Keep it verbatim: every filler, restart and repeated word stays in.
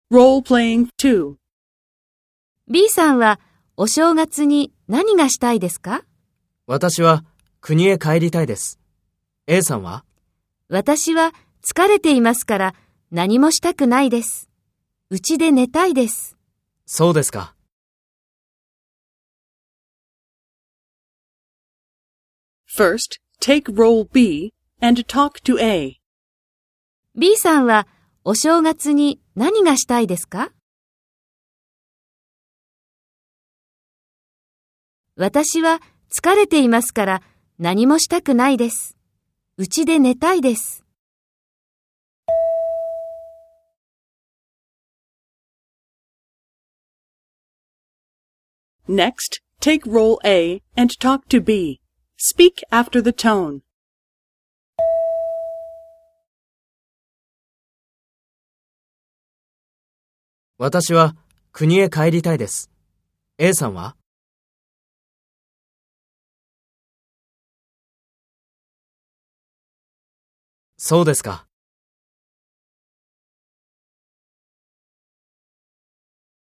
Role-playing two. B さんはお正月に何がしたいですか？ 私は国へ帰りたいです。A さんは？ 私は疲れていますから何もしたくないです。うちで寝たいです。 そうですか。 First, take role B and talk to A. B さんはお正月に何がしたいですか？私は疲れていますから何もしたくないです。うちで寝たいです。 Next, take role A and talk to B. Speak after the tone. 私は国へ帰りたいです。A さんは？そうですか。